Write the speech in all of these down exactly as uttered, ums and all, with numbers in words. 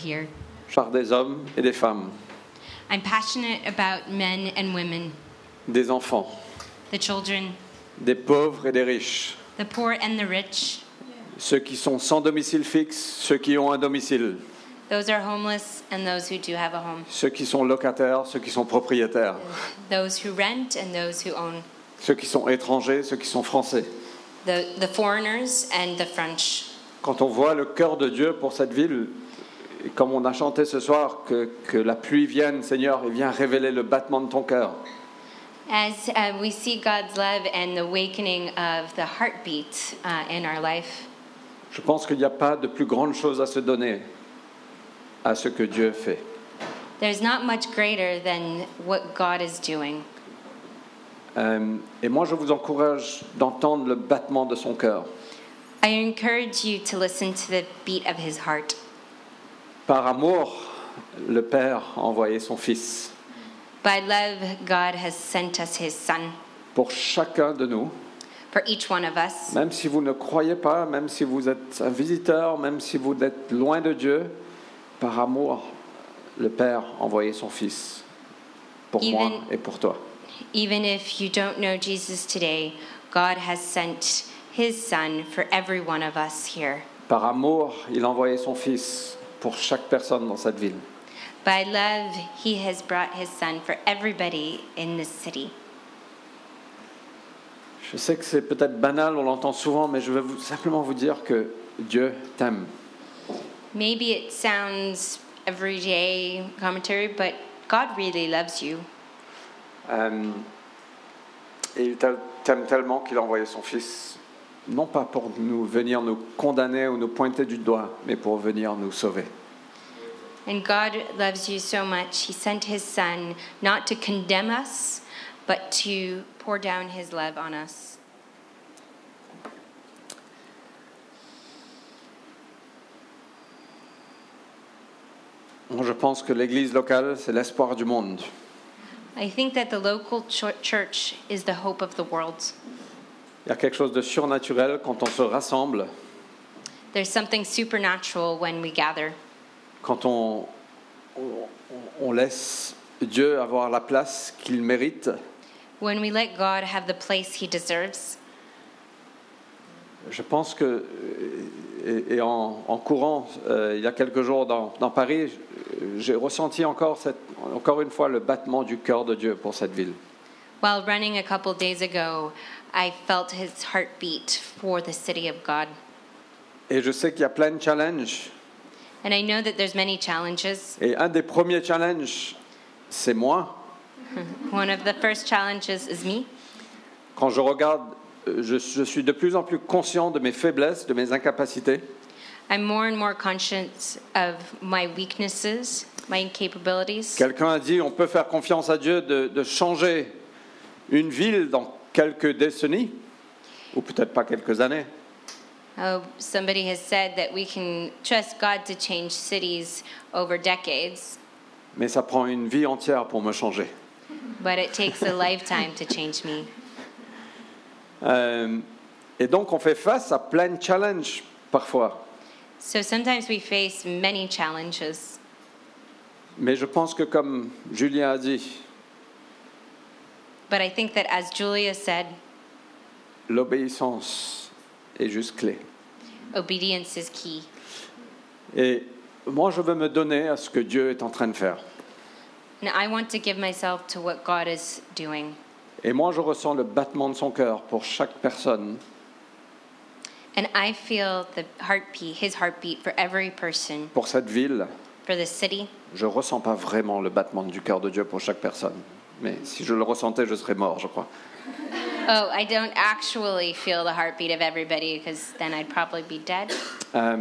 here. par des hommes et des femmes, I'm passionate about men and women, des enfants, the children, des pauvres et des riches, the poor and the rich, ceux qui sont sans domicile fixe, ceux qui ont un domicile, those are homeless and those who do have a home, ceux qui sont locataires, ceux qui sont propriétaires, those who rent and those who own, ceux qui sont étrangers, ceux qui sont français. the, the foreigners and the French. Quand on voit le cœur de Dieu pour cette ville, et comme on a chanté ce soir, que, que la pluie vienne, Seigneur, et viens révéler le battement de ton cœur. As uh, we see God's love and the awakening of the heartbeat uh, in our life, Je pense qu'il n'y a pas de plus grande chose à se donner à ce que Dieu fait. there's not much greater than what God is doing. Euh, et moi, je vous encourage d'entendre le battement de son cœur. I encourage you to listen to the beat of his heart. Par amour, le Père a envoyé son Fils By love, God has sent us his Son. pour chacun de nous. For each one of us, Même si vous ne croyez pas, même si vous êtes un visiteur, même si vous êtes loin de Dieu, par amour, le Père a envoyé son Fils pour Even- moi et pour toi. even if you don't know Jesus today, God has sent his Son for every one of us here. Par amour, il a envoyé son Fils pour chaque personne dans cette ville. By love, he has brought his Son for everybody in this city. Je sais que c'est peut-être banal, on l'entend souvent, mais je vais vous, simplement vous dire que Dieu t'aime. Maybe it sounds everyday commentary, but God really loves you. Euh, et il t'a- t'aime tellement qu'il a envoyé son Fils, non pas pour nous venir nous condamner ou nous pointer du doigt, mais pour venir nous sauver. And God loves you so much, he sent his Son not to condemn us, but to pour down his love on us. Moi, je pense que l'Église locale, c'est l'espoir du monde. I think that the local ch- church is the hope of the world. Il y a quelque chose de surnaturel quand on se rassemble, There's something supernatural when we gather, quand on, on, on laisse Dieu avoir la place qu'il mérite. when we let God have the place he deserves. Je pense que, et, et en, en courant, euh, il y a quelques jours dans, dans Paris, j'ai ressenti encore, cette, encore une fois le battement du cœur de Dieu pour cette ville. While running a couple days ago, I felt his heartbeat for the city of God. Et je sais qu'il y a plein de challenges. And I know that there's many challenges. Et un des premiers challenges, c'est moi. One of the first challenges is me. Quand je regarde, je, je suis de plus en plus conscient de mes faiblesses, de mes incapacités. I'm more and more conscious of my weaknesses, my incapabilities. Quelqu'un a dit, on peut faire confiance à Dieu de, de changer une ville dans quelques décennies, ou peut-être pas quelques années. Oh, somebody has said that we can trust God to change cities over decades, Mais ça prend une vie entière pour me changer. but it takes a lifetime to change me. Euh, et donc on fait face à plein de challenges parfois. So sometimes we face many challenges. Mais je pense que comme Julien a dit, But I think that, as Julia said, l'obéissance est juste clé. obedience is key. Et moi je veux me donner à ce que Dieu est en train de faire. And I want to give myself to what God is doing. Et moi je ressens le battement de son cœur pour chaque personne. And I feel the heartbeat, his heartbeat for every person, Pour cette ville, for the city. je ne ressens pas vraiment le battement du cœur de Dieu pour chaque personne. Mais si je le ressentais, je serais mort, je crois. Oh, I don't actually feel the heartbeat of everybody because then I'd probably be dead. Euh,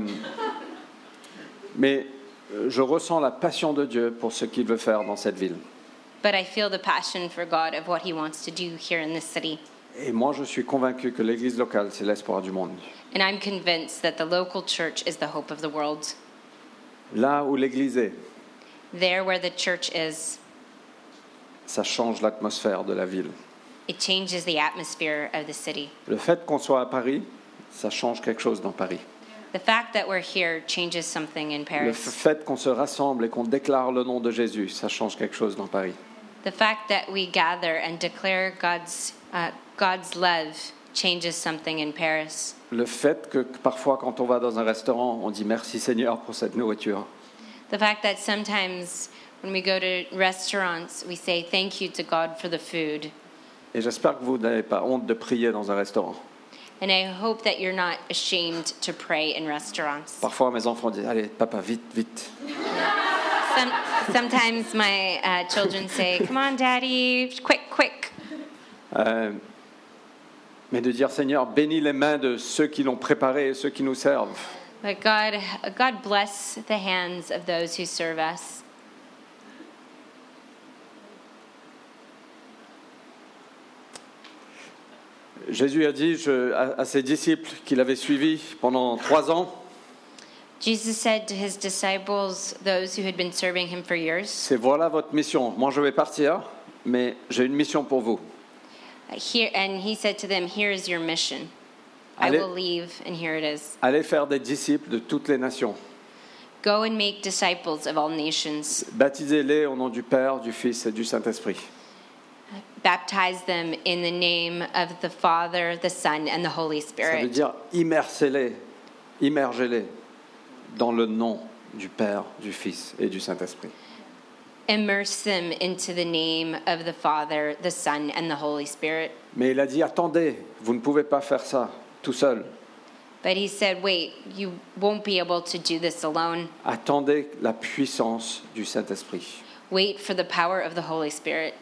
mais euh, je ressens la passion de Dieu pour ce qu'il veut faire dans cette ville. But I feel the passion for God of what he wants to do here in this city. Et moi, je suis convaincu que l'église locale, c'est l'espoir du monde. And I'm convinced that the local church is the hope of the world. Là où l'église est, There where the church is, ça change l'atmosphère de la ville. it changes the atmosphere of the city. Le fait qu'on soit à Paris, ça change quelque chose dans Paris. The fact that we're here changes something in Le Paris. fait qu'on se rassemble et qu'on déclare le nom de Jésus, ça change quelque chose dans Paris. The fact that we gather and declare God's uh, God's love changes something in Paris. Le fait que parfois, quand on va dans un restaurant, on dit merci Seigneur pour cette nourriture. The fact that sometimes when we go to restaurants, we say thank you to God for the food. Et j'espère que vous n'avez pas honte de prier dans un restaurant. And I hope that you're not ashamed to pray in restaurants. Parfois, mes enfants disent allez, papa, vite, vite. Some, sometimes my uh, children say, "Come on, Daddy, quick, quick." Euh, mais de dire Seigneur, bénis les mains de ceux qui l'ont préparé et ceux qui nous servent. But God, God bless the hands of those who serve us. Jésus a dit je, à, à ses disciples qu'il avait suivis pendant trois ans, Jesus said to his disciples, those who had been serving him for years, c'est voilà votre mission. Moi je vais partir, mais j'ai une mission pour vous. here, and he said to them, "Here is your mission. I Allez, will leave, and here it is. allez faire des disciples de toutes les nations. Go and make disciples of all nations. Baptisez-les au nom du Père, du Fils et du Saint-Esprit. Baptize them in the name of the Father, the Son, and the Holy Ça veut Spirit." dire immersez-les, immergez-les dans le nom du Père, du Fils et du Saint-Esprit. Immerse them into the name of the Father, the Son, and the Holy Spirit. Mais il a dit attendez, vous ne pouvez pas faire ça tout seul. But he said, wait, you won't be able to do this alone. Attendez la puissance du Saint-Esprit. Wait for the power of the Holy Spirit.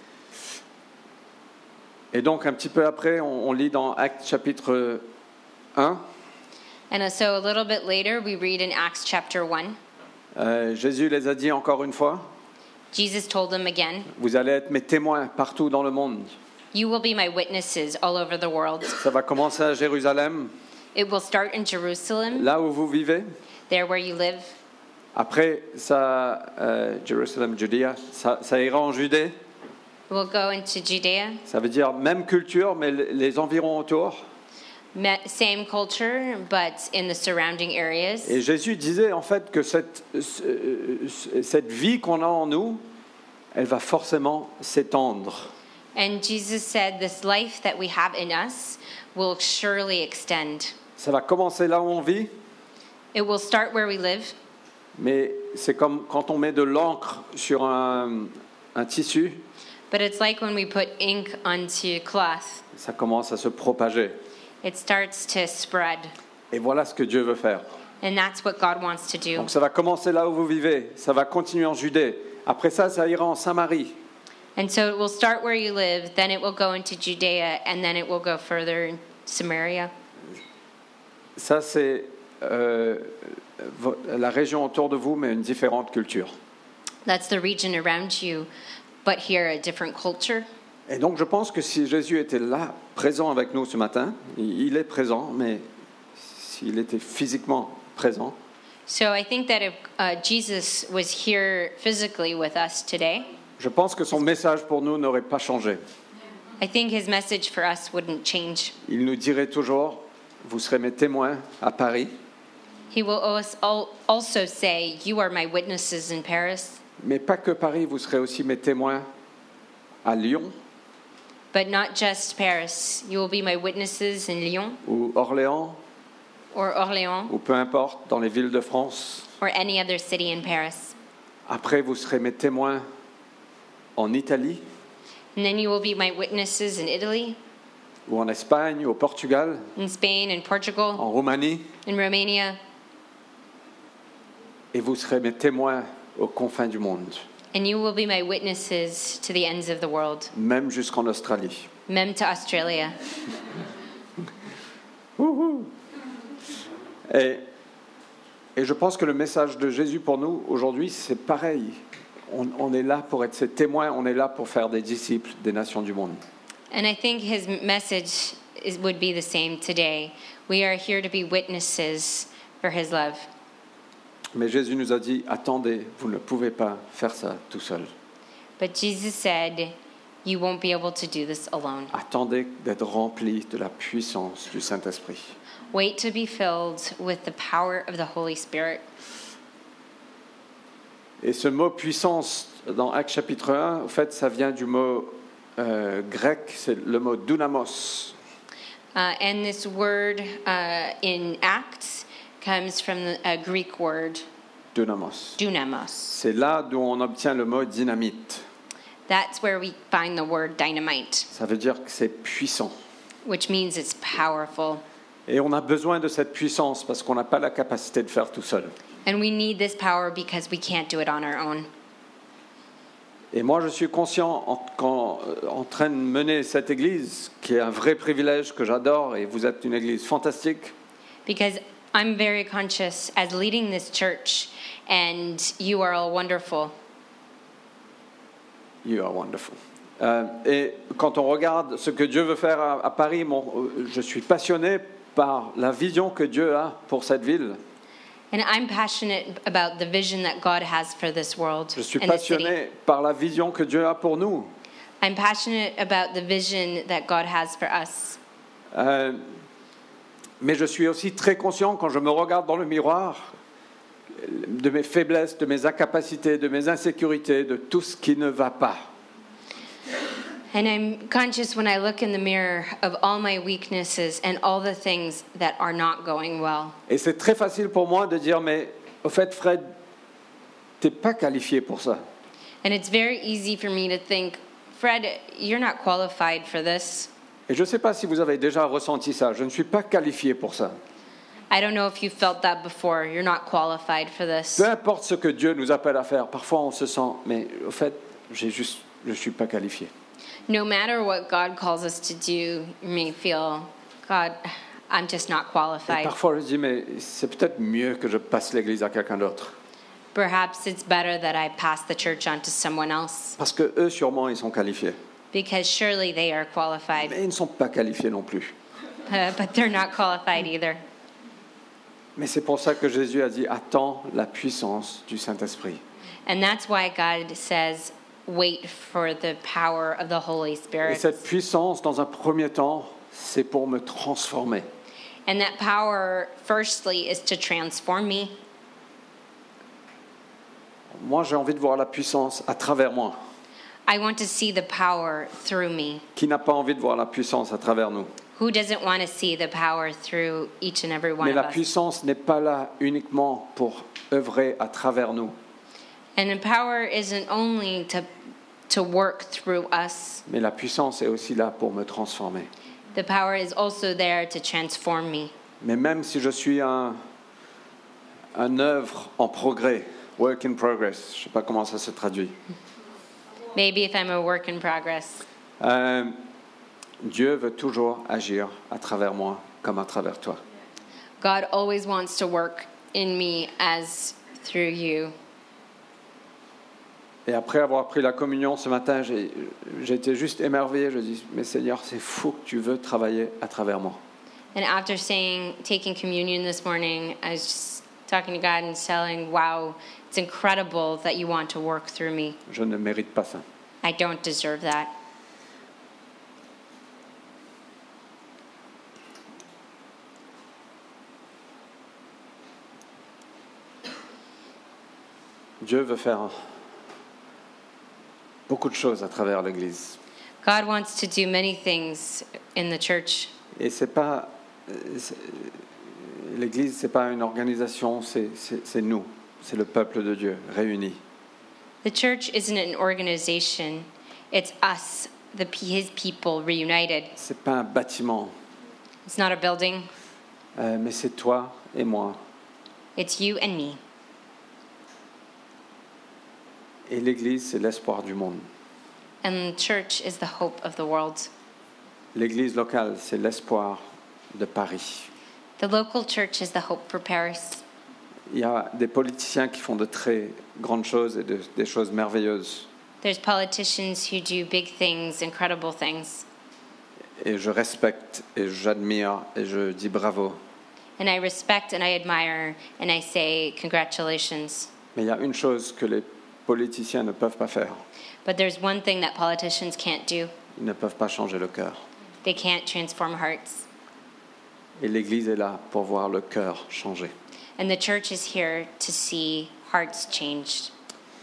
Et donc un petit peu après, on, on lit dans Actes chapitre un, And so a little bit later, we read in Acts chapter one, euh, Jésus les a dit encore une fois, Jesus told them again, vous allez être mes témoins partout dans le monde. "You will be my witnesses all over the world." Ça va commencer à Jérusalem, It will start in Jerusalem, là où vous vivez. there where you live. Après, ça, euh, Jerusalem, Judea, ça, ça ira en Judée. It will go into Judea, Ça veut dire même culture, mais les environs autour. me- same culture, but in the surrounding areas. Et Jésus disait en fait que cette, ce- cette vie qu'on a en nous, elle va forcément s'étendre. And Jesus said, this life that we have in us will surely extend. Ça va commencer là où on vit, It will start where we live, mais c'est comme quand on met de l'encre sur un, un tissu, but it's like when we put ink onto cloth, ça commence à se propager. it starts to spread. Et voilà ce que Dieu veut faire. And that's what God wants to do. Donc ça va commencer là où vous vivez, ça va continuer en Judée. Après ça, ça ira en Samarie. And so it will start where you live, then it will go into Judea, and then it will go further in Samaria. Ça, c'est euh, vo- la région autour de vous, mais une différente culture. That's the region around you, but here a different culture. Et donc, je pense que si Jésus était là, présent avec nous ce matin, il il est présent, mais s'il était physiquement présent, So I think that if uh, Jesus was here physically with us today, je pense que son message pour nous n'aurait pas changé. I think his message for us wouldn't change. Il nous dirait toujours, vous serez mes témoins à Paris, He will als- al- also say, "You are my witnesses in Paris," mais pas que Paris, vous serez aussi mes témoins à Lyon but not just Paris. You will be my witnesses in Lyon ou Orléans, or Orléans ou peu importe, dans les villes de France. or any other city in Paris. Après, vous serez mes témoins en Italie, And then you will be my witnesses in Italy, ou en Espagne, ou au Portugal, in Spain, in Portugal, en Roumanie, in Romania, et vous serez mes témoins aux confins du monde, and you will be my witnesses to the ends of the world, même jusqu'en Australie. même to Australia. Et, et je pense que le message de Jésus pour nous aujourd'hui, c'est pareil. On, on est là pour être ses témoins, on est là pour faire des disciples des nations du monde. And I think his message is, would be the same today. We are here to be witnesses for his love. Mais Jésus nous a dit, attendez, vous ne pouvez pas faire ça tout seul. But Jesus said, You won't be able to do this alone. Attendez d'être remplis de la puissance du Saint-Esprit. Wait to be filled with the power of the Holy Spirit. Et ce mot puissance dans Actes chapitre un, en fait, ça vient du mot euh, grec, c'est le mot dunamos. Uh, and this word uh, in Acts comes from the uh, Greek word Dunamos. dunamos. C'est là d'où on obtient le mot dynamite. That's where we find the word dynamite, Ça veut dire que c'est puissant. which means it's powerful. Et on a besoin de cette puissance parce qu'on n'a pas la capacité de faire tout seul. And we need this power because we can't do it on our own. Et moi, je suis conscient en, qu'en- en train de mener cette église, qui est un vrai privilège que j'adore, et vous êtes une église fantastique. Because I'm very conscious as leading this church, and you are all wonderful. You are wonderful. Euh, et quand on regarde ce que Dieu veut faire à, à Paris, mon- euh, je suis passionné par la vision que Dieu a pour cette ville. And I'm passionate about the vision that God has for this world Je suis and this city. passionné par la vision que Dieu a pour nous. I'm passionate about the vision that God has for us. Euh, mais je suis aussi très conscient quand je me regarde dans le miroir de mes faiblesses, de mes incapacités, de mes insécurités, de tout ce qui ne va pas. And I'm conscious when I look in the mirror of all my weaknesses and all the things that are not going well. Et c'est très facile pour moi de dire, mais au fait, Fred, t'es pas qualifié pour ça. And it's very easy for me to think, Fred, you're not qualified for this. Et je ne sais pas si vous avez déjà ressenti ça. Je ne suis pas qualifié pour ça. I don't know if you felt that before. You're not qualified for this. Peu importe ce que Dieu nous appelle à faire, parfois on se sent, mais au fait, j'ai juste, je ne suis pas qualifié. No matter what God calls us to do, you may feel, God, I'm just not Et qualified. parfois je dis, mais c'est peut-être mieux que je passe l'église à quelqu'un d'autre. Perhaps it's better that I pass the church on to someone else, Parce que eux, sûrement, ils sont qualifiés. because surely they are qualified, Mais ils ne sont pas qualifiés non plus. uh, but they're not qualified either. Mais c'est pour ça que Jésus a dit, attends la puissance du Saint-Esprit. And that's why God says, wait for the power of the Holy Et Spirit. cette puissance, dans un premier temps, c'est pour me transformer. And that power, firstly, is to transform me. Moi, j'ai envie de voir la puissance à travers moi. I want to see the power through me. Qui n'a pas envie de voir la puissance à travers nous? Who doesn't want to see the power through each and every one Mais of la us? puissance n'est pas là uniquement pour œuvrer à travers nous, And the power isn't only to to work through us. mais la puissance est aussi là pour me transformer. The power is also there to transform me. Mais même si je suis un, un œuvre en progrès, work in progress, je ne sais pas comment ça se traduit, Maybe if I'm a work in progress. euh, Dieu veut toujours agir à travers moi comme à travers toi. God always wants to work in me as through you. Et après avoir pris la communion ce matin, j'ai, j'étais juste émerveillé. Je dis, mais Seigneur, c'est fou que tu veux travailler à travers moi. And after saying, taking communion this morning, I was just talking to God and telling, wow, it's incredible that you want to work through me. Je ne mérite pas ça. I don't deserve that. Dieu veut faire beaucoup de choses à travers l'Église. God wants to do many things in the church. Et c'est pas c'est- l'Église, c'est pas une organisation, c'est, c'est, c'est nous, c'est le peuple de Dieu réuni. The church isn't an organization. It's us, the his people reunited. C'est pas un bâtiment, It's not a building. euh, mais c'est toi et moi. It's you and me. Et l'Église, c'est l'espoir du monde. And the church is the hope of the world. L'Église locale, c'est l'espoir de Paris. The local church is the hope for Paris. Il y a des politiciens qui font de très grandes choses et de- des choses merveilleuses. There's politicians who do big things, incredible things. Et je respecte et j'admire et je dis bravo. And I respect and I admire and I say congratulations. Mais il y a une chose que les politiciens ne peuvent pas faire. But there's one thing that politicians can't do. Ils ne peuvent pas changer le cœur. They can't transform hearts. Et l'Église est là pour voir le cœur changer. And the church is here to see hearts changed.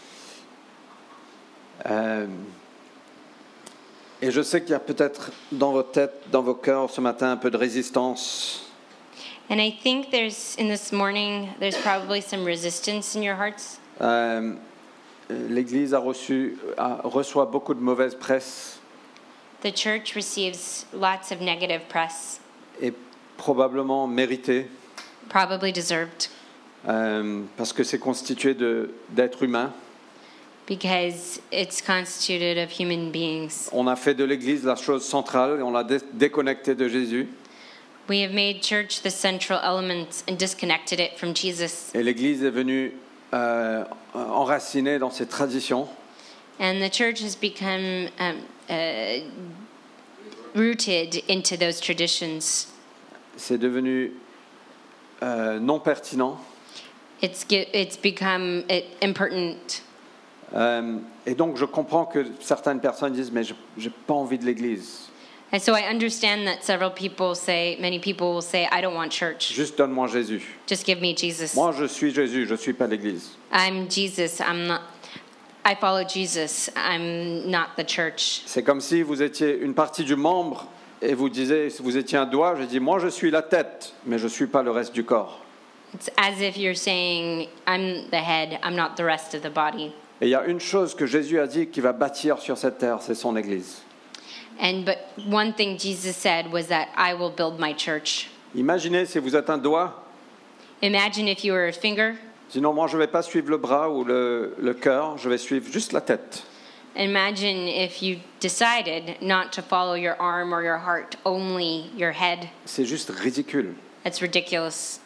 Euh, et je sais qu'il y a peut-être dans vos têtes, dans vos cœurs ce matin un peu de résistance. And I think there's, in this morning, there's probably some resistance in your hearts. Euh, L'Église a reçu, a, reçoit beaucoup de mauvaise presse The church receives lots of negative press, et probablement méritée probably deserved, euh, parce que c'est constitué de, d'êtres humains. because it's constituted of human beings. On a fait de l'Église la chose centrale et on l'a dé- déconnecté de Jésus. We have made church the central element and disconnected it from Jesus. Et l'Église est venue euh, enracinée dans ses traditions. And the church has become um, uh, rooted into those traditions. C'est devenu euh, non pertinent. It's ge- it's become uh, impertinent. Euh, et donc je comprends que certaines personnes disent mais je j'ai pas envie de l'Église. And so I understand that several people say, many people will say, I don't want church. Juste donne-moi Jésus. Just give me Jesus. Moi je suis Jésus, je suis pas l'Église. I'm Jesus. I'm not. I follow Jesus. I'm not the church. C'est comme si vous étiez une partie du membre et vous disiez si vous étiez un doigt, je dis moi je suis la tête, mais je suis pas le reste du corps. It's as if you're saying, I'm the head. I'm not the rest of the body. Et il y a une chose que Jésus a dit qui va bâtir sur cette terre, c'est son Église. And but one thing Jesus said was that I will build my church. Imaginez si vous êtes un doigt, Imagine if you were a finger. sinon moi je ne vais pas suivre le bras ou le, le cœur, je vais suivre juste la tête. Imagine if you decided not to follow your arm or your heart, only your head. C'est juste ridicule. That's ridiculous.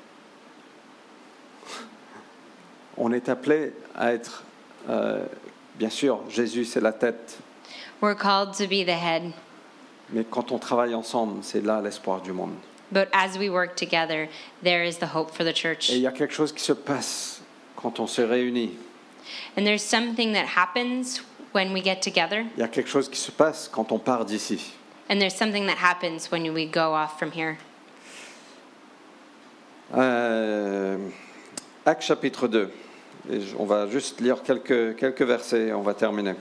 On est appelé à être, euh, bien sûr, Jésus c'est la tête, We're called to be the head. mais quand on travaille ensemble, c'est là l'espoir du monde. But as we work together, there is the hope for the church. Et il y a quelque chose qui se passe quand on se réunit. And there's something that happens when we get together. Il y a quelque chose qui se passe quand on part d'ici. And there's something that happens when we go off from here. Euh, Actes chapitre deux. Et on va juste lire quelques, quelques versets et on va terminer.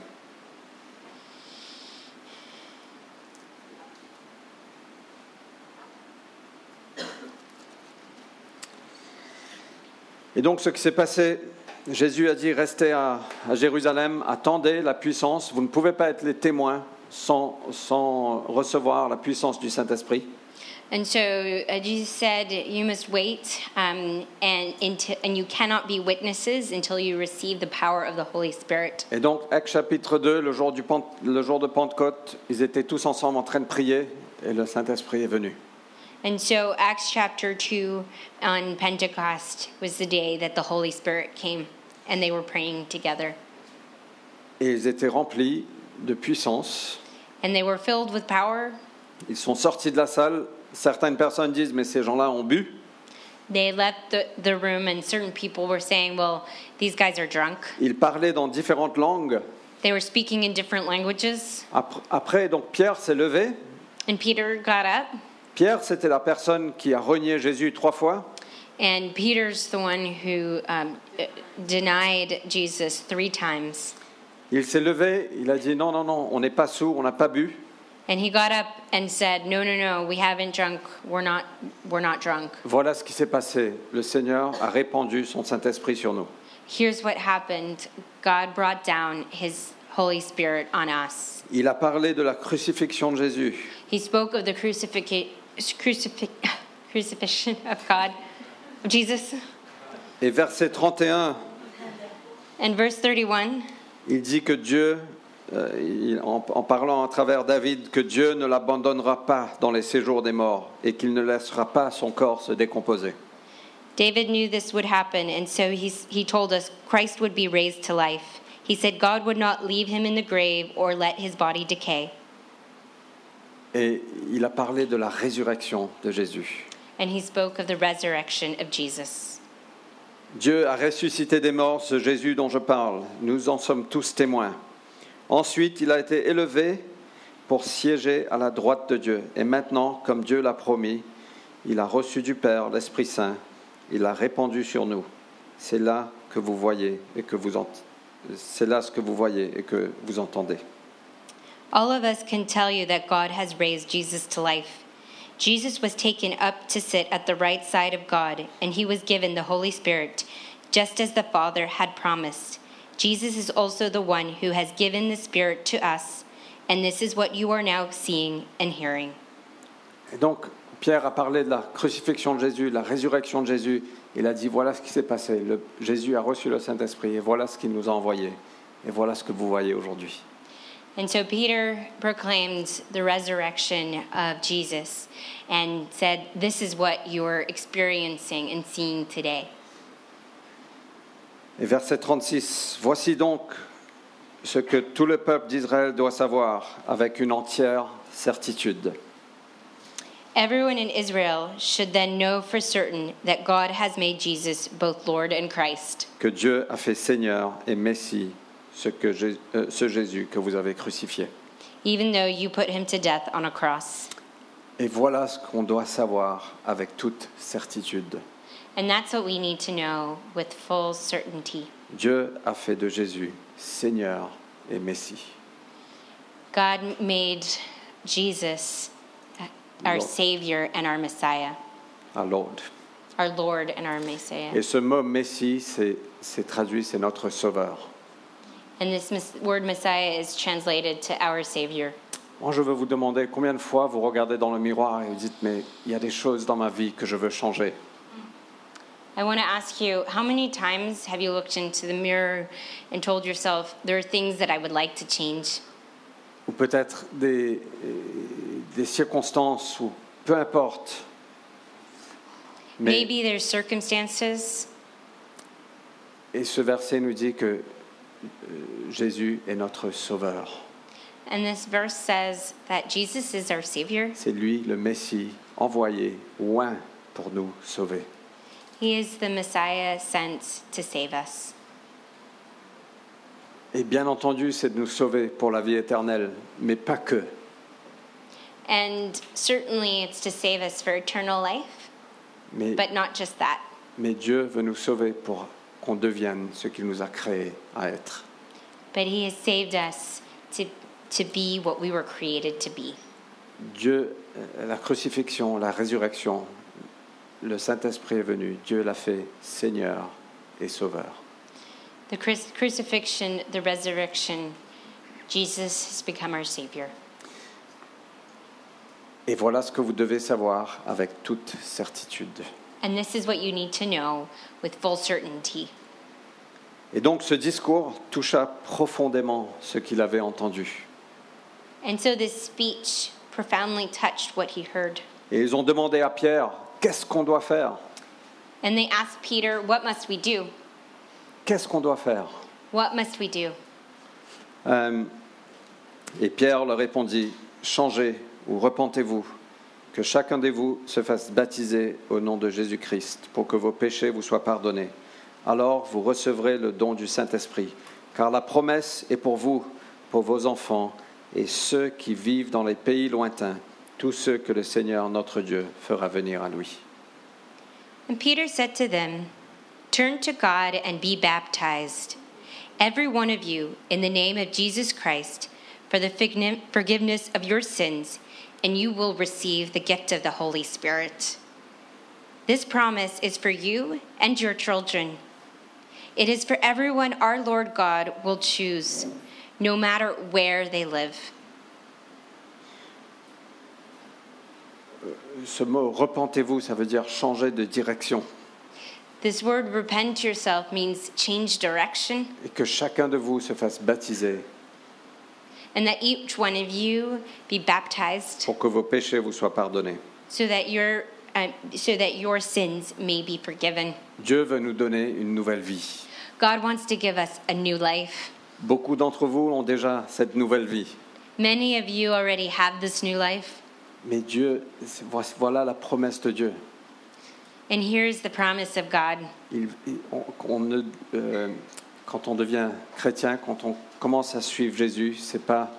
Et donc ce qui s'est passé, Jésus a dit restez à, à Jérusalem, attendez la puissance. Vous ne pouvez pas être les témoins sans, sans recevoir la puissance du Saint-Esprit. And so uh, Jesus said, you must wait, um, and, into, and you cannot be witnesses until you receive the power of the Holy Spirit. Et donc Actes chapitre deux, le jour, du Pente, le jour de Pentecôte, ils étaient tous ensemble en train de prier et le Saint-Esprit est venu. And so Acts chapter two on Pentecost was the day that the Holy Spirit came, and they were praying together. Et ils étaient remplis de puissance. And they were filled with power. Ils sont sortis de la salle. Certaines personnes disent, mais ces gens-là ont bu. They left the, the room, and certain people were saying, well, these guys are drunk. Ils parlaient dans différentes langues. They were speaking in different languages. Après, donc Pierre s'est levé. And Peter got up. Pierre, c'était la personne qui a renié Jésus trois fois. And Peter's the one who um, denied Jesus three times. Il s'est levé, il a dit, non, non, non, on n'est pas sourd, on n'a pas bu. And he got up and said, no, no, no, we haven't drunk. We're not, we're not drunk. Voilà ce qui s'est passé. Le Seigneur a répandu son Saint-Esprit sur nous. Here's what happened. God brought down his Holy Spirit on us. Il a parlé de la crucifixion de Jésus. He spoke of the crucifixion, crucifix, crucifixion of God, of Jesus. Et verset trente et un, And verse thirty-one, il dit que Dieu, euh, il, en, en parlant à travers David, que Dieu ne l'abandonnera pas dans les séjours des morts et qu'il ne laissera pas son corps se décomposer. David knew this would happen, and so he's, he told us Christ would be raised to life. He said God would not leave him in the grave or let his body decay. Et il a parlé de la résurrection de Jésus. And he spoke of the resurrection of Jesus. Dieu a ressuscité des morts ce Jésus dont je parle. Nous en sommes tous témoins. Ensuite, il a été élevé pour siéger à la droite de Dieu. Et maintenant, comme Dieu l'a promis, il a reçu du Père l'Esprit Saint. Il l'a répandu sur nous. C'est là que vous voyez et que vous ent... c'est là ce que vous voyez et que vous entendez. All of us can tell you that God has raised Jesus to life. Jesus was taken up to sit at the right side of God, and he was given the Holy Spirit, just as the Father had promised. Jesus is also the one who has given the Spirit to us, and this is what you are now seeing and hearing. Et donc, Pierre a parlé de la crucifixion de Jésus, de la résurrection de Jésus. Il a dit, voilà ce qui s'est passé. Le, Jésus a reçu le Saint-Esprit, et voilà ce qu'il nous a envoyé. Et voilà ce que vous voyez aujourd'hui. And so Peter proclaimed the resurrection of Jesus and said, this is what you're experiencing and seeing today. Et verset trente-six, « Voici donc ce que tout le peuple d'Israël doit savoir avec une entière certitude. Everyone in Israel should then know for certain that God has made Jesus both Lord and Christ. Que Dieu a fait Seigneur et Messie, ce, que Jésus, euh, ce Jésus que vous avez crucifié. Even though you put him to death on a cross. Et voilà ce qu'on doit savoir avec toute certitude. And that's what we need to know with full certainty. Dieu a fait de Jésus Seigneur et Messie. God made Jesus our Lord. Savior and our Messiah. Our Lord. Our Lord and our Messiah. Et ce mot Messie, c'est, c'est traduit, c'est notre Sauveur. And this mes- word Messiah is translated to our Savior. Moi, je veux vous demander combien de fois vous regardez dans le miroir et vous dites, mais il y a des choses dans ma vie que je veux changer. I want to ask you, how many times have you looked into the mirror and told yourself, there are things that I would like to change? Ou peut-être des, des circonstances, ou peu importe. Mais, Maybe there's circumstances. et ce verset nous dit que euh, Jésus est notre Sauveur. And this verse says that Jesus is our Savior. C'est lui, le Messie, envoyé, oint pour nous sauver. He is the Messiah sent to save us. Et bien entendu, c'est de nous sauver pour la vie éternelle, mais pas que. And certainly it's to save us for eternal life, Mais, but not just that. mais Dieu veut nous sauver pour qu'on devienne ce qu'il nous a créé à être. But he has saved us to, to be what we were created to be. Dieu, euh, la crucifixion, la résurrection, le Saint-Esprit est venu. Dieu l'a fait Seigneur et Sauveur. The cru- crucifixion, the resurrection, Jesus has become our Savior. Et voilà ce que vous devez savoir avec toute certitude. And this is what you need to know with full certainty. Et donc ce discours toucha profondément ce qu'il avait entendu. And so this speech profoundly touched what he heard. Et ils ont demandé à Pierre, qu'est-ce qu'on doit faire ? And they asked Peter, what must we do? Qu'est-ce qu'on doit faire ? What must we do? Euh, et Pierre leur répondit, changez ou repentez-vous, que chacun de vous se fasse baptiser au nom de Jésus-Christ pour que vos péchés vous soient pardonnés. Alors vous recevrez le don du Saint-Esprit, car la promesse est pour vous, pour vos enfants et ceux qui vivent dans les pays lointains, tous ceux que le Seigneur notre Dieu fera venir à lui. And Peter said to them, turn to God and be baptized, every one of you, in the name of Jesus Christ, for the forgiveness of your sins, and you will receive the gift of the Holy Spirit. This promise is for you and your children. It is for everyone our Lord God will choose, no matter where they live. Ce mot « repentez-vous », ça veut dire changer de direction. This word repent yourself means change direction, Et que chacun de vous se fasse baptiser and that each one of you be baptized pour que vos péchés vous soient pardonnés. so that your uh, so that your sins may be forgiven. Dieu veut nous donner une nouvelle vie. God wants to give us a new life. Beaucoup d'entre vous ont déjà cette nouvelle vie. Many of you already have this new life, Mais Dieu, voilà la promesse de Dieu. And here's the promise of God. Il, il- on, on ne, euh, quand on devient chrétien, quand on commence à suivre Jésus, c'est pas,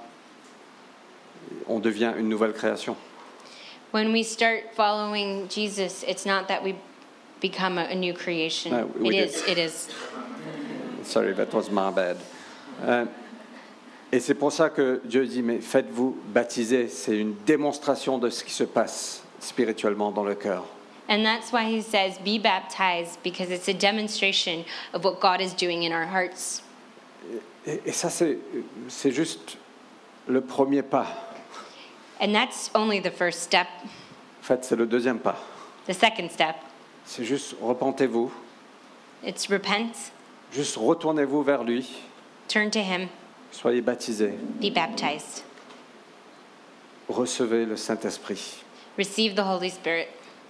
on devient une nouvelle création. When we start following Jesus, it's not that we become a, a new creation. No, we it did. is. It is. Sorry, that was my bad. Euh, et c'est pour ça que Dieu dit, mais faites-vous baptiser. C'est une démonstration de ce qui se passe spirituellement dans le cœur. And that's why he says, be baptized, because it's a demonstration of what God is doing in our hearts. Et, et ça, c'est, c'est juste le premier pas. And that's only the first step. En fait, c'est le deuxième pas. The second step, C'est juste repentez-vous, it's repent, juste retournez-vous vers lui, turn to him, soyez baptisés, be baptized, recevez le Saint-Esprit. receive the Holy Spirit.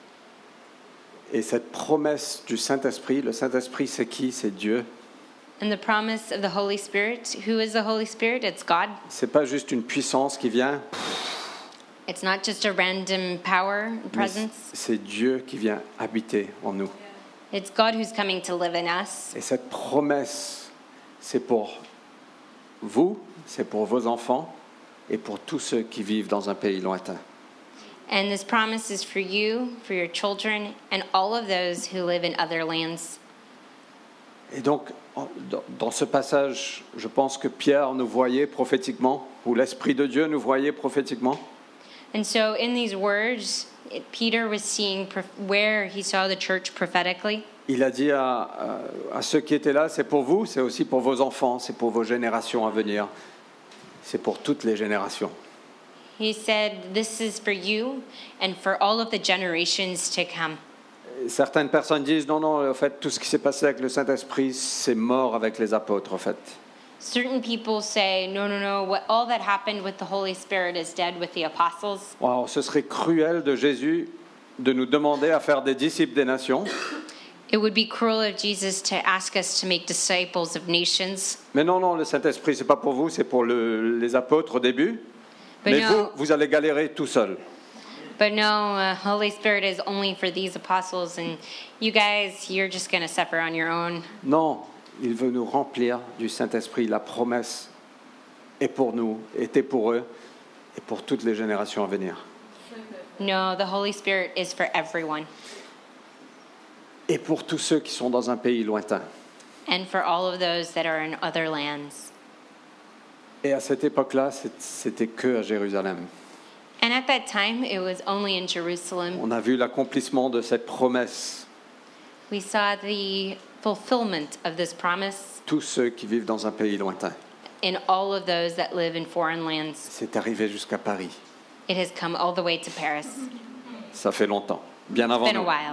Et cette promesse du Saint-Esprit, le Saint-Esprit, c'est qui? C'est Dieu. And the promise of the Holy Spirit, who is the Holy Spirit? It's God. C'est pas juste une puissance qui vient, It's not just a random power and mais presence. c'est Dieu qui vient habiter en nous. It's God who's coming to live in us. Et cette promesse, c'est pour vous, c'est pour vos enfants et pour tous ceux qui vivent dans un pays lointain. And this promise is for you, for your children, and all of those who live in other lands. Et donc, en- dans- dans ce passage, je pense que Pierre nous voyait prophétiquement, ou l'Esprit de Dieu nous voyait prophétiquement. And so in these words, it, Peter was seeing prof- where he saw the church prophetically. Il a dit à, à- à ceux qui étaient là, c'est pour vous, c'est aussi pour vos enfants, c'est pour vos générations à venir, c'est pour toutes les générations. He said, this is for you and for all of the generations to come. Et certaines personnes disent, non, non, en fait, tout ce qui s'est passé avec le Saint-Esprit, c'est mort avec les apôtres, en fait. Certain people say, no, no, no, what, all that happened with the Holy Spirit is dead with the apostles. Wow, ce serait cruel de Jésus de nous demander à faire des disciples des nations. It would be cruel of Jesus to ask us to make disciples of nations. Mais non, non, le Saint-Esprit, c'est pas pour vous, c'est pour le- les apôtres au début. But Mais no, vous, vous allez galérer tout seul. but no, uh, Holy Spirit is only for these apostles, and you guys, you're just going to suffer on your own. Non, il veut nous remplir du Saint-Esprit. La promesse est pour nous, était pour eux et pour toutes les générations à venir. No, the Holy Spirit is for everyone Et pour tous ceux qui sont dans un pays lointain. and for all of those that are in other lands. Et à cette époque-là, c'est- c'était que à Jérusalem. And at that time, it was only in Jerusalem. On a vu l'accomplissement de cette promesse. We saw the fulfillment of this promise Tous ceux qui vivent dans un pays lointain. in all of those that live in foreign lands. C'est arrivé jusqu'à Paris. It has come all the way to Paris. Ça fait longtemps, bien It's avant been a nous. while.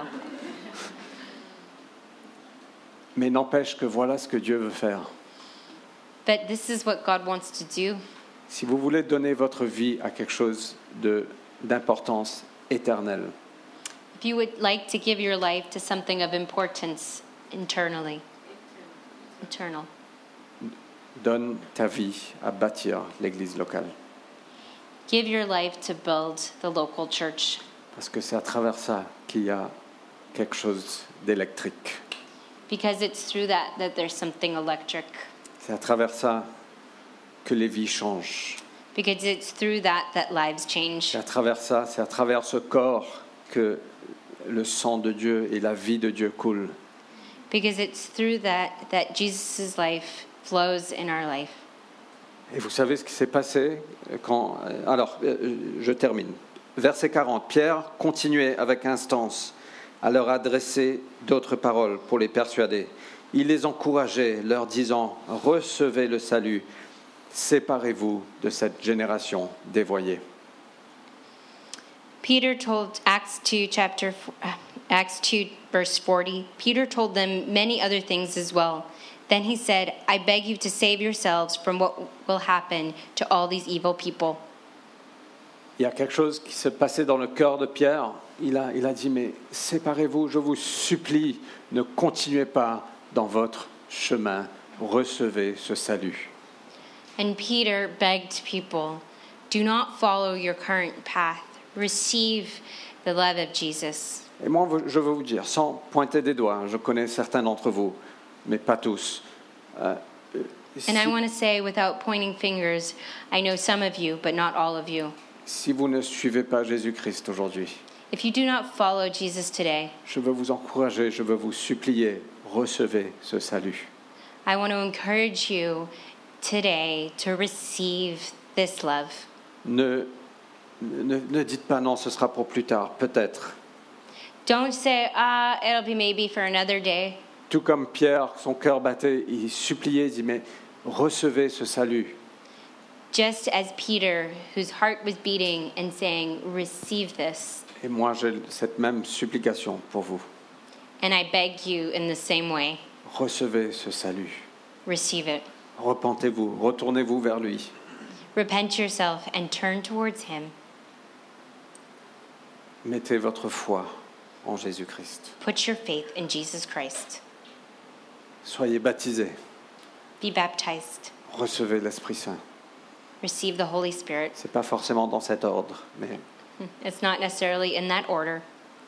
Mais n'empêche que voilà ce que Dieu veut faire. But this is what God wants to do. Si vous voulez donner votre vie à quelque chose de, d'importance éternelle, If you would like to give your life to something of importance internally, eternal, donne ta vie à bâtir l'église locale. give your life to build the local church. Parce que c'est à travers ça qu'il y a quelque chose d'électrique. Because it's through that that there's something electric. C'est à travers ça que les vies changent. Because it's through that that lives change. C'est à travers ça, c'est à travers ce corps que le sang de Dieu et la vie de Dieu coulent. Because it's through that that Jesus' life flows in our life. Et vous savez ce qui s'est passé quand... Alors, je termine. Verset quarante. Pierre continuait avec instance à leur adresser d'autres paroles pour les persuader. Il les encourageait, leur disant « Recevez le salut, séparez-vous de cette génération dévoyée. » Peter told Acts two chapter uh, Acts two verse forty. Peter told them many other things as well. Then he said, "I beg you to save yourselves from what will happen to all these evil people." Il y a quelque chose qui s'est passé dans le cœur de Pierre. Il a, il a dit « Mais séparez-vous, je vous supplie, ne continuez pas dans votre chemin, recevez ce salut. » And Peter begged people, "Do not follow your current path. Receive the love of Jesus." Et moi, je veux vous dire, sans pointer des doigts, je connais certains d'entre vous, mais pas tous. Euh, si, And I want to say, without pointing fingers, I know some of you, but not all of you. si vous ne suivez pas Jésus-Christ aujourd'hui, If you do not follow Jesus today, je veux vous encourager, je veux vous supplier, recevez ce salut. I want to encourage you today to receive this love. Ne, ne, ne dites pas non, ce sera pour plus tard, peut-être. Don't say, ah, it'll be maybe for another day. Tout comme Pierre, son cœur battait, il suppliait, il dit, mais recevez ce salut. Just as Peter, whose heart was beating and saying, receive this. Et moi, j'ai cette même supplication pour vous. And I beg you in the same way, Recevez ce salut. receive it. Repentez-vous, retournez-vous vers lui. Repent yourself and turn towards him. Mettez votre foi en Jésus-Christ. Put your faith in Jesus Christ. Soyez baptisés. Be baptized. Recevez l'Esprit Saint. Receive the Holy Spirit. C'est pas forcément dans cet ordre, mais, It's not necessarily in that order,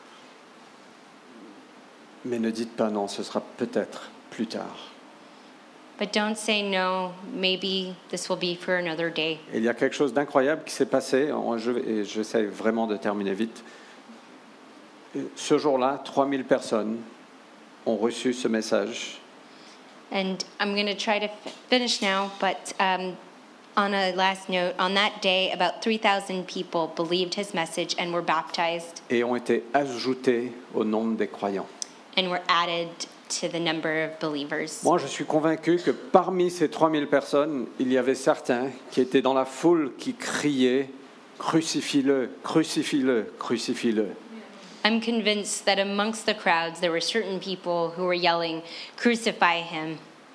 mais ne dites pas non, ce sera peut-être plus tard. but don't say no, maybe this will be for another day. Et il y a quelque chose d'incroyable qui s'est passé, je, et j'essaie vraiment de terminer vite. Ce jour-là, trois mille personnes ont reçu ce message. And I'm going to try to f- finish now, but um, on a last note, on that day, about three thousand people believed his message and were baptized Et ont été ajoutés au nombre des croyants. and were added to the number of believers. Moi, je suis convaincu que parmi ces trois mille personnes, il y avait certains qui étaient dans la foule qui criaient « Crucifie-le, crucifie-le, crucifie-le ». I'm convinced that amongst the crowds, there were certain people who were yelling, crucify him.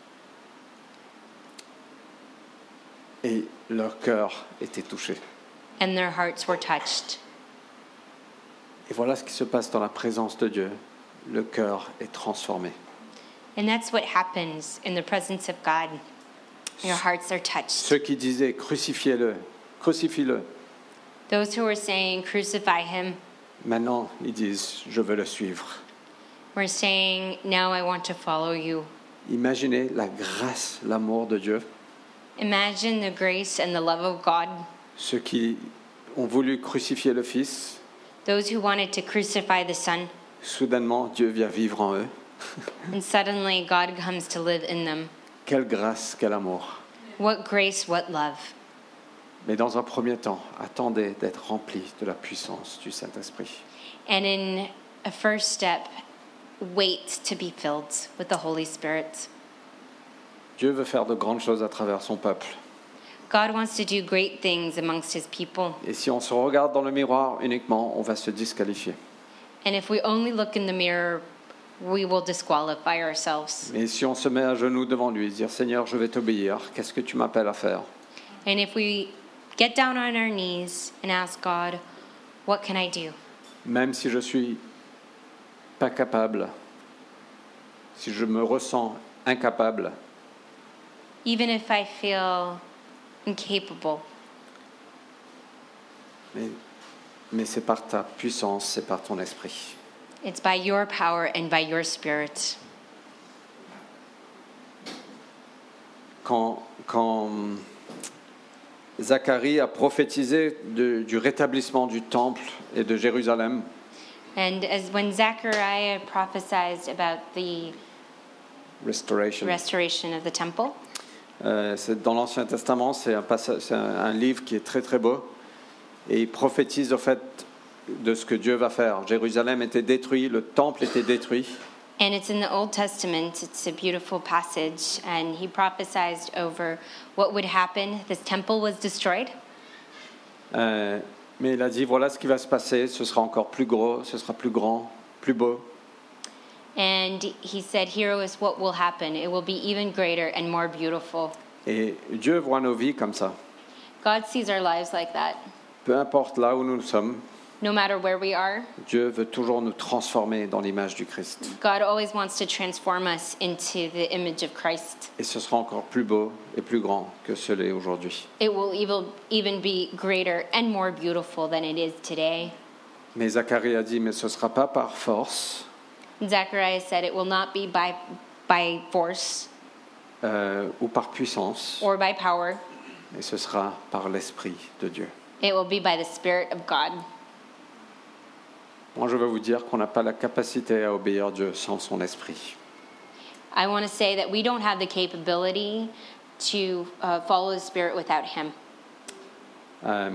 Et leur cœur était touché. And their hearts were touched. Et voilà ce qui se passe dans la présence de Dieu. Le cœur est transformé. And that's what happens in the presence of God. Your hearts are touched. Ceux qui disaient « Crucifiez-le, crucifie-le », Those who were saying, crucify him, maintenant ils disent « Je veux le suivre ». were saying, now I want to follow you. Imaginez la grâce, l'amour de Dieu. Imagine the grace and the love of God. Ceux qui ont voulu crucifier le Fils, Those who wanted to crucify the Son, soudainement Dieu vient vivre en eux. and suddenly God comes to live in them. Quelle grâce, quel amour. What grace, what love. Mais dans un premier temps, attendez d'être remplis de la puissance du Saint-Esprit. And in a first step, wait to be filled with the Holy Spirit. Dieu veut faire de grandes choses à travers son peuple. God wants to do great things amongst his people. Et si on se regarde dans le miroir uniquement, on va se disqualifier. And if we only look in the mirror, we will disqualify ourselves. Mais si on se met à genoux devant lui, dire Seigneur, je vais t'obéir, qu'est-ce que tu m'appelles à faire? And if we get down on our knees and ask God, what can I do? Même si je suis pas capable, si je me ressens incapable, Even if I feel incapable, mais, mais c'est par ta puissance, c'est par ton esprit. it's by your power and by your Spirit. Quand, quand Zacharie a prophétisé de- du rétablissement du temple et de Jérusalem, And as when Zechariah prophesied about the Restoration, restoration of the temple, euh, c'est dans l'Ancien Testament, c'est un, passage, c'est un, un livre qui est très très beau, et il prophétise au fait de ce que Dieu va faire. Jérusalem était détruit, le temple était détruit, and it's in the Old Testament, it's a beautiful passage, and he prophesied over what would happen. This temple was destroyed, euh, mais il a dit voilà ce qui va se passer, ce sera encore plus gros, ce sera plus grand, plus beau. and he said, here is what will happen. It will be even greater and more beautiful. Et Dieu voit nos vies comme ça. God sees our lives like that. Peu importe là où nous sommes, No matter where we are, Dieu veut toujours nous transformer dans l'image du Christ. God always wants to transform us into the image of Christ. Et ce sera encore plus beau et plus grand que ce l'est aujourd'hui. It will even even be greater and more beautiful than it is today. Mais Zacharie a dit, mais ce ne sera pas par force Zacharias said it will not be by, by force euh, ou par puissance, or by power. mais ce sera par l'Esprit de Dieu. It will be by the Spirit of God. Moi, je veux vous dire qu'on n'a pas la capacité à obéir à Dieu sans son Esprit. I want to say that we don't have the capability to uh, follow the Spirit without Him. Euh,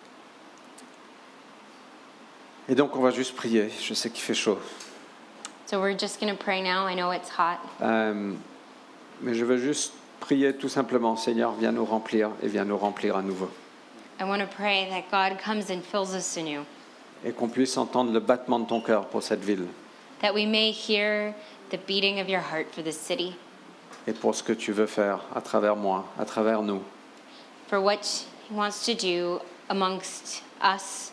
et donc, on va juste prier. Je sais qu'il fait chaud. So we're just going to pray now. I know it's hot. Euh, mais je veux juste prier tout simplement. Seigneur, viens nous remplir et viens nous remplir à nouveau. I want to pray that God comes and fills us anew, Et qu'on puisse entendre le battement de ton cœur pour cette ville that we may hear the beating of your heart for this city, et pour ce que tu veux faire à travers moi, à travers nous. for what He wants to do amongst us.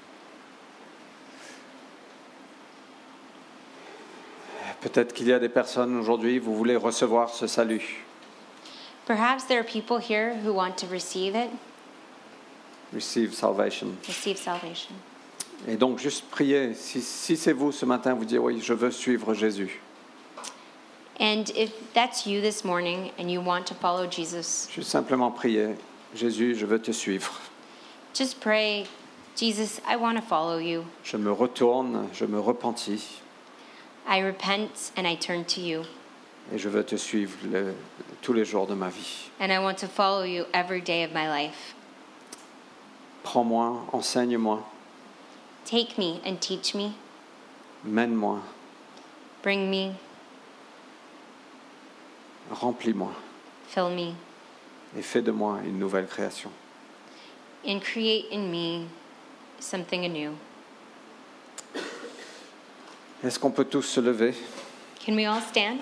Peut-être qu'il y a des personnes aujourd'hui, vous voulez recevoir ce salut. Perhaps there are people here who want to receive it, Receive salvation. receive salvation. Et donc, juste prier. Si, si c'est vous ce matin, vous dites oui, je veux suivre Jésus. And if that's you this morning and you want to follow Jesus, Juste simplement prier. Jésus, je veux te suivre. just pray, Jesus, I want to follow you. Je me retourne, je me repentis I repent and I turn to you. et je veux te suivre le- tous les jours de ma vie. And I want to follow you every day of my life. Prends-moi, enseigne-moi, Take me and teach me. mène-moi, Bring me, remplis-moi fill me, et fais de moi une nouvelle création. and create in me something anew. Est-ce qu'on peut tous se lever? Can we all stand?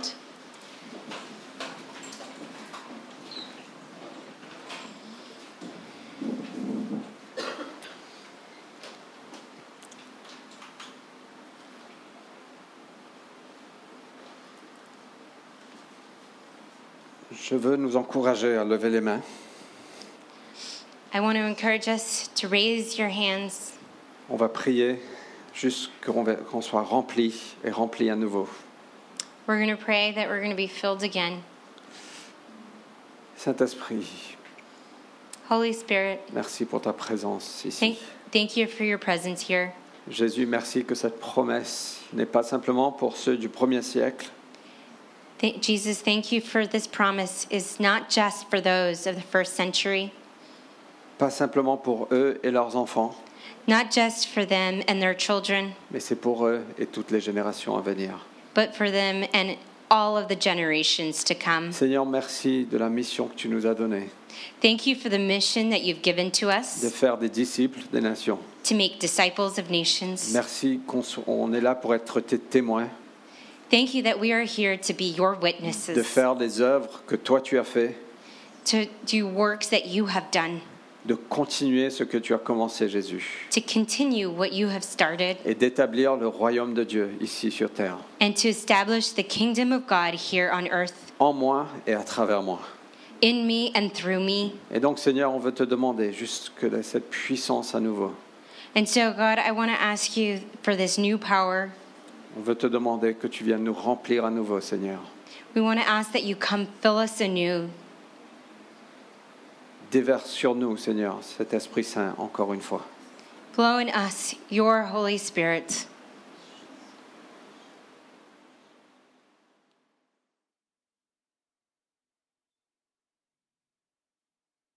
Je veux nous encourager à lever les mains. I want to encourage us to raise your hands. On va prier juste qu'on va- qu'on soit rempli et rempli à nouveau. We're going to pray that we're going to be filled again. Saint-Esprit, Holy Spirit, merci pour ta présence ici. thank, thank you for your presence here. Jésus, merci que cette promesse n'est pas simplement pour ceux du premier siècle, Th- Jesus, thank you for this promise is not just for those of the first century, pas simplement pour eux et leurs enfants, not just for them and their children, mais c'est pour eux et toutes les générations à venir. but for them and all of the generations to come. Seigneur, merci de la mission que tu nous as donnée, Thank you for the mission that you've given to de us faire des disciples des nations. to make disciples of nations. Merci qu'on so- on est là pour être tes témoins, Thank you that we are here to be your de witnesses, faire des œuvres que toi tu as fait, to do works that you have done, de continuer ce que tu as commencé, Jésus, to continue what you have started, et d'établir le royaume de Dieu ici sur terre, and to establish the kingdom of God here on earth, en moi et à travers moi. in me and through me. Et donc, Seigneur, on veut te demander juste que la- cette puissance à nouveau, And so, God, I want to ask you for this new power. on veut te demander que tu viennes nous remplir à nouveau, Seigneur. We want to ask that you come fill us anew. Déverse sur nous, Seigneur, cet Esprit Saint encore une fois. Blow in us your Holy Spirit.